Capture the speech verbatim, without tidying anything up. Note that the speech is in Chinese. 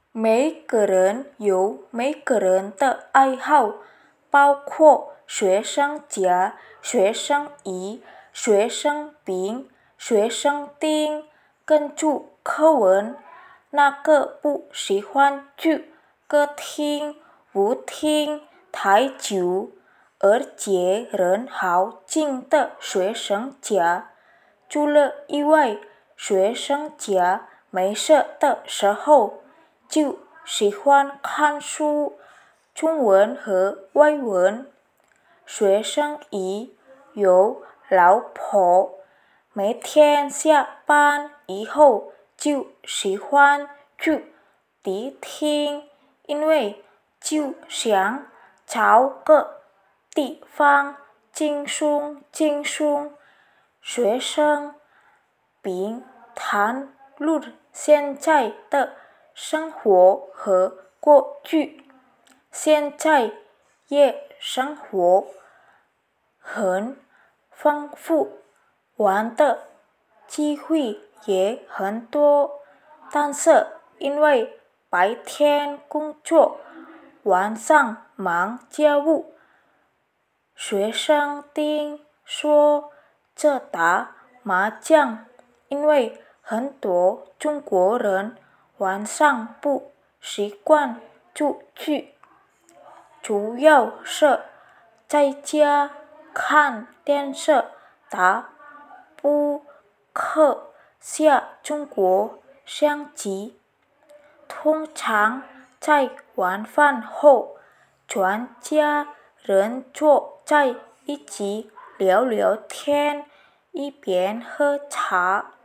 每个人有每个人的爱好，包括学生甲、学生乙、学生丙、学生丁。根据课文，那个不喜欢去歌厅、舞厅、台酒，而且人好静的学生甲，除了以外，学生甲没事的时候就喜欢看书，中文和外文。学生乙有老婆，每天下班以后就喜欢去迪厅，因为就想找个地方轻松轻松。学生丙谈论现在的生活和过去，现在夜生活很丰富，玩的机会也很多，但是因为白天工作，晚上忙家务。学生丁说这打麻将，因为很多中国人晚上不习惯出去，主要是在家看电视、打扑克、下中国象棋。通常在晚饭后，全家人坐在一起聊聊天，一边喝茶。